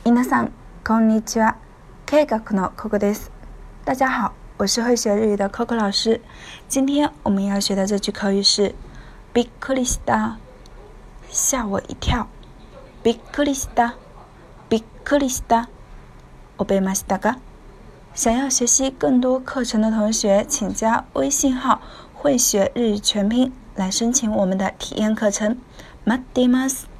皆さんこんにちは。K学の Coco です。大家好，我是会学日语的 Coco 老师。今天我们要学的这句口语是びっくりした，吓我一跳。びっくりした，びっくりした。覚えましたか？想要学习更多课程的同学，请加微信号会学日语全拼来申请我们的体验课程。待っています。